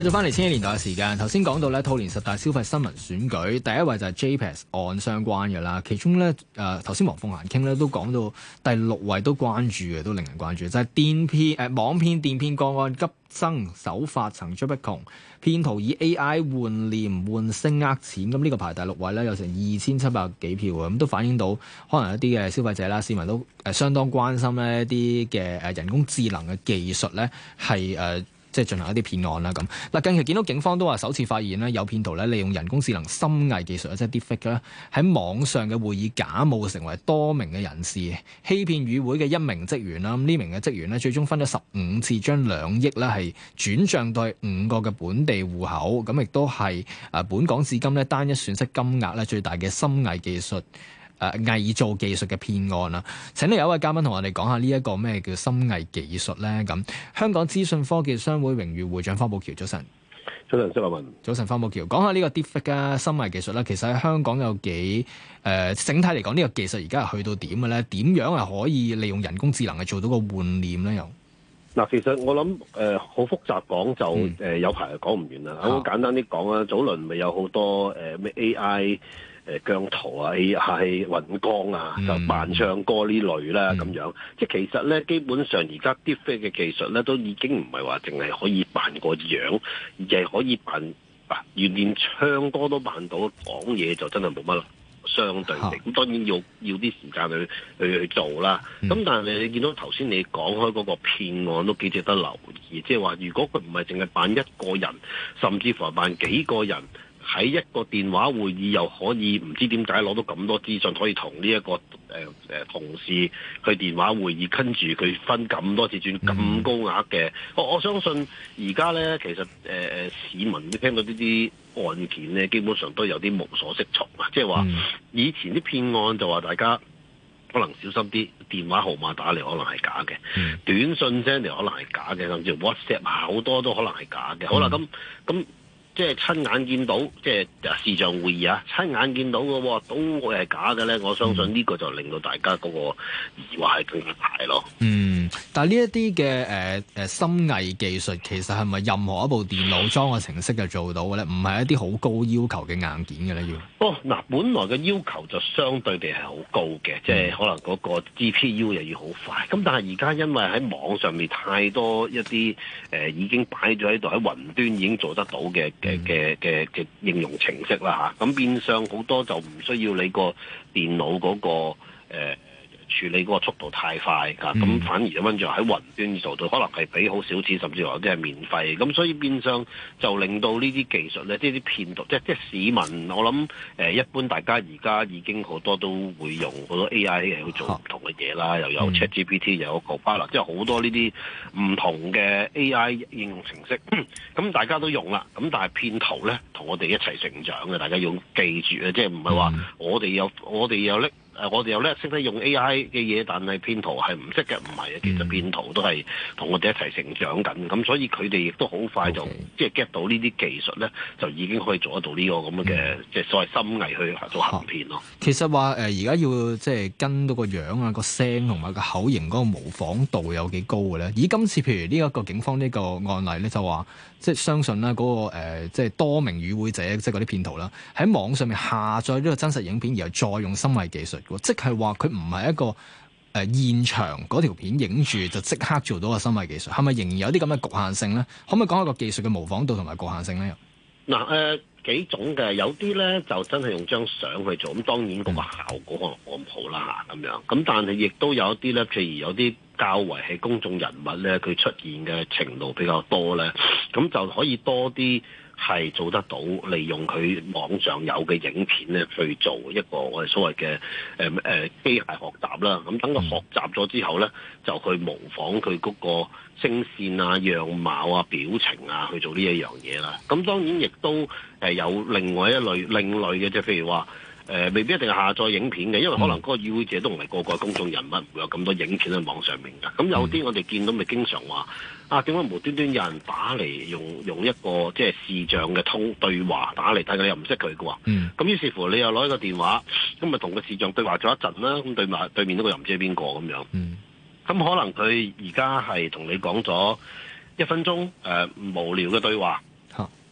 繼續翻嚟千禧年代嘅時間，頭先講到咧兔年10大消費新聞選舉，第一位就係 JPEX 案相關嘅啦。其中咧頭先黃鳳嫻傾咧都講到第6位都關注嘅，都令人關注，就係網騙電騙個案急增，手法層出不窮，騙徒以 AI 換臉換聲呃錢，咁呢個排第6位咧，有成2700幾票啊，咁都反映到可能一啲嘅消費者啦、市民都相當關心咧一啲嘅人工智能嘅技術咧係即係進行一啲騙案啦咁。嗱，近期見到警方都話首次發現咧有騙徒咧利用人工智能深偽技術即係 Deepfake 咧喺網上嘅會議假冒成為多名嘅人士，欺騙與會嘅1名職員啦。咁呢名嘅職員咧最終分咗15次將2億咧係轉帳到5個嘅本地戶口，咁亦都係本港至今咧單一損失金額咧最大嘅深偽技術偽造技術嘅騙案啦。請你有一位嘉賓同我哋講下呢一個咩叫深偽技術咧？咁香港資訊科技商會榮譽會長方保僑，早晨。 早晨，周立文。 早晨，方保僑，講下呢個 Deepfake 啊，深偽技術咧，其實喺香港有幾整體嚟講，呢個技術而家係去到點嘅咧？點樣係可以利用人工智能去做到個換臉咧？又嗱，其實我諗好複雜講就有排講唔完啦。好簡單啲講啦，早輪咪有好多咩 AI 姜濤啊、AI 尹光啊，就扮唱歌呢類啦咁樣。即係其實咧，基本上而家 Deepfake 嘅技術咧，都已經唔係話淨係可以扮個樣，而係可以扮連唱歌都扮到，講嘢就真係冇乜相對性。咁當然要啲時間去做啦。咁但係你見到頭先你講開嗰個騙案都幾值得留意，即係話如果佢唔係淨係扮一個人，甚至乎係扮幾個人。喺一個電話會議又可以唔知點解攞到咁多資訊，可以同呢一個同事去電話會議，跟住佢分咁多次轉咁高額嘅。我相信而家咧，其實市民都聽到呢啲案件咧，基本上都有啲無所適從啊！即係話以前啲騙案就話大家可能小心啲，電話號碼打嚟可能係假嘅，短信 send 嚟可能係假嘅，甚至 WhatsApp 好多都可能係假嘅。好啦，咁。即係親眼見到，即係視像會議啊！親眼見到嘅喎，都會係假嘅咧。我相信呢個就令到大家嗰個疑惑係更加大咯。 但係呢一啲嘅深偽技術，其實係咪任何一部電腦裝個程式就做到嘅咧？唔係一啲好高要求嘅硬件嘅咧？要嗱，本來嘅要求就相對地係好高嘅，即係可能嗰個 GPU 又要好快。咁但係而家因為喺網上面太多一啲已經擺咗喺度喺雲端已經做得到嘅應用程式啦嚇，咁變相好多就唔需要你個電腦嗰個處理嗰個速度太快㗎，咁反而溫住喺雲端做到，可能係俾好少錢，甚至乎有啲係免費，咁所以變相就令到呢啲技術咧，即係啲騙徒，即係市民，我諗一般大家而家已經好多都會用好多 AI 去做唔同嘅嘢啦，又有 ChatGPT，又有 Copilot，即係好多呢啲唔同嘅 AI 應用程式，咁大家都用啦，咁但係騙徒咧同我哋一齊成長嘅，大家要記住啊，即係唔係話我哋又叻識得用 AI 嘅嘢，但係騙徒係唔識嘅，唔係啊！其實騙徒都係同我哋一齊成長緊，咁所以佢哋亦都好快就即係 get 到呢啲技術咧，就已經可以做得到呢個咁嘅即係所謂深偽去做行騙咯。 其實話而家要即係跟到個樣啊、個聲同埋個口型嗰個模仿度有幾高嘅咧？以今次譬如呢一個警方呢個案例咧，就話即係相信啦嗰個即係多名與會者，即係嗰啲騙徒啦，喺網上面下載呢個真實影片，然後再用深偽技術。即係話佢唔係一個現場嗰條片影住就即刻做到個深偽技術，係咪仍然有啲咁嘅局限性咧？可唔可以講下個技術嘅模仿度同埋局限性咧？ 嗱幾種嘅，有啲咧就真係用張相去做，咁當然嗰個效果可能冇咁好啦咁樣。咁但係亦都有一啲咧，譬如有啲較為係公眾人物咧，佢出現嘅程度比較多咧，咁就可以多啲。係做得到，利用佢網上有嘅影片咧，去做一個我哋所謂嘅機械學習啦。咁等佢學習咗之後咧，就去模仿佢嗰個聲線啊、樣貌啊、表情啊，去做呢一樣嘢啦。咁當然亦都有另外一類另類嘅，即係譬如話未必一定係下載影片嘅，因為可能嗰個與會者都唔係個個公眾人物，唔會有咁多影片喺網上面㗎。咁有啲我哋見到咪經常話點解無端端有人打嚟用一個即係視像嘅對話打嚟，但係你又唔識佢嘅喎。咁於是乎你又攞一個電話，咁咪同個視像對話咗一陣啦。咁對面嗰個又唔知係邊個咁樣。咁可能佢而家係同你講咗1分鐘無聊嘅對話。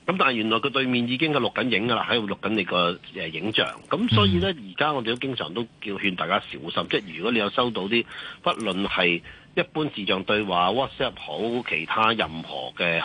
咁但係原來佢對面已經係錄緊影㗎啦，喺度錄緊你個影像。咁所以咧，而家我哋都經常都叫勸大家小心，即係如果你有收到啲，不論係一般視像對話、WhatsApp 好，其他任何嘅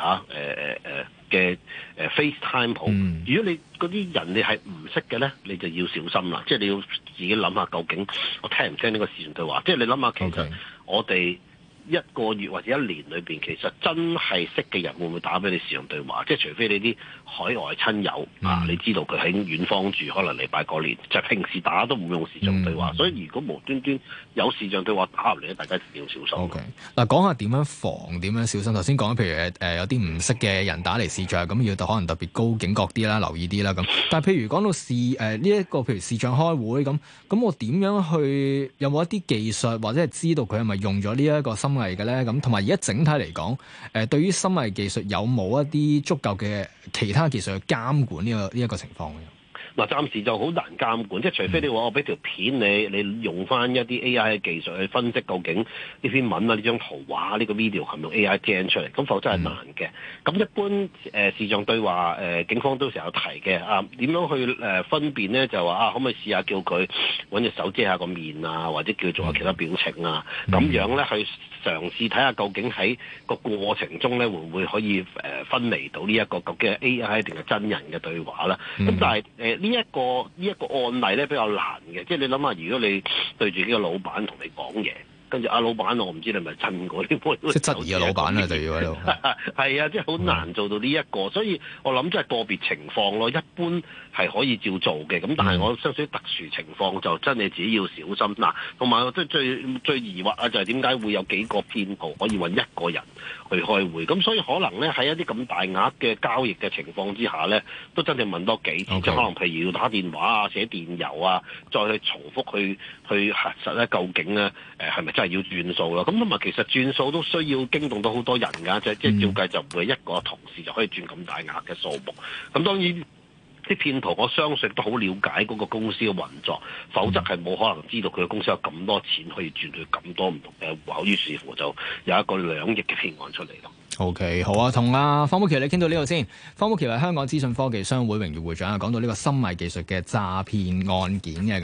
FaceTime 好，如果你嗰啲人你係唔識嘅咧，你就要小心啦。即係你要自己諗下，究竟我聽唔聽呢個視像對話？即係你諗下，其實我哋一個月或者一年裏邊，其實真係識嘅人會唔會打俾你視像對話？即係除非你啲海外親友你知道佢喺遠方住，可能嚟拜過年，就係平時打都唔用視像對話。所以如果無端端有視像對話打入嚟咧，大家一定要小心。 OK， 嗱，講下點樣防、點樣小心。頭先講譬如有啲唔識嘅人打嚟視像，咁要可能特別高警覺啲啦，留意啲啦咁。但係譬如講到呢一個譬如視像開會咁我點樣去有冇一啲技術或者係知道佢係咪用咗呢一個深偽嘅咧？咁同埋而家整體嚟講，對於深偽技術有冇一啲足夠嘅其他技術去監管呢一個情況嘅？ 嗱，暫時就好難監管，即係除非你話我俾條片你用翻一啲 AI 嘅技術去分析究竟呢篇文啊、呢張圖畫、呢個 video 係咪用 AI gen 出嚟，咁否則係難嘅。咁一般視像對話警方都成日有提嘅點樣去分辨咧？就話可唔可以試下叫佢揾隻手遮下個面啊，或者叫做下其他表情啊，咁樣咧去嘗試睇下究竟喺個過程中咧會唔會可以分離到呢一個究竟係 AI 定係真人嘅對話啦。咁但係呢一個案例咧比較難嘅，即係你諗下，如果你對住呢個老闆同你講嘢，跟住老闆，我唔知你係咪真嗰啲， 即係質疑嘅老闆啊，就要喺度。 係啊，即係好難做到呢一個，所以我諗即係個別情況咯。一般係可以照做嘅，咁但係我相信特殊情況就真係自己要小心嗱。同埋即係最疑惑啊，就係點解會有幾個騙徒可以揾一個人去開會？咁所以可能咧喺一啲咁大額嘅交易嘅情況之下咧，都真係問多幾次，即係可能譬如要打電話啊、寫電郵啊，再去重複去核實咧，究竟咧係咪真係要轉數啦？咁同埋其實轉數都需要驚動到好多人㗎，即係照計就唔會一個同事就可以轉咁大額嘅數目。咁當然啲騙徒我相信都好了解嗰個公司嘅運作，否則係冇可能知道佢嘅公司有咁多錢可以轉去咁多唔同嘅戶口，於是乎就有一個2億嘅騙案出嚟咯。 OK， 好啊，同方保僑你傾到呢度先。方保僑係香港資訊科技商會榮譽會長啊，講到呢個深偽技術嘅詐騙案件嘅。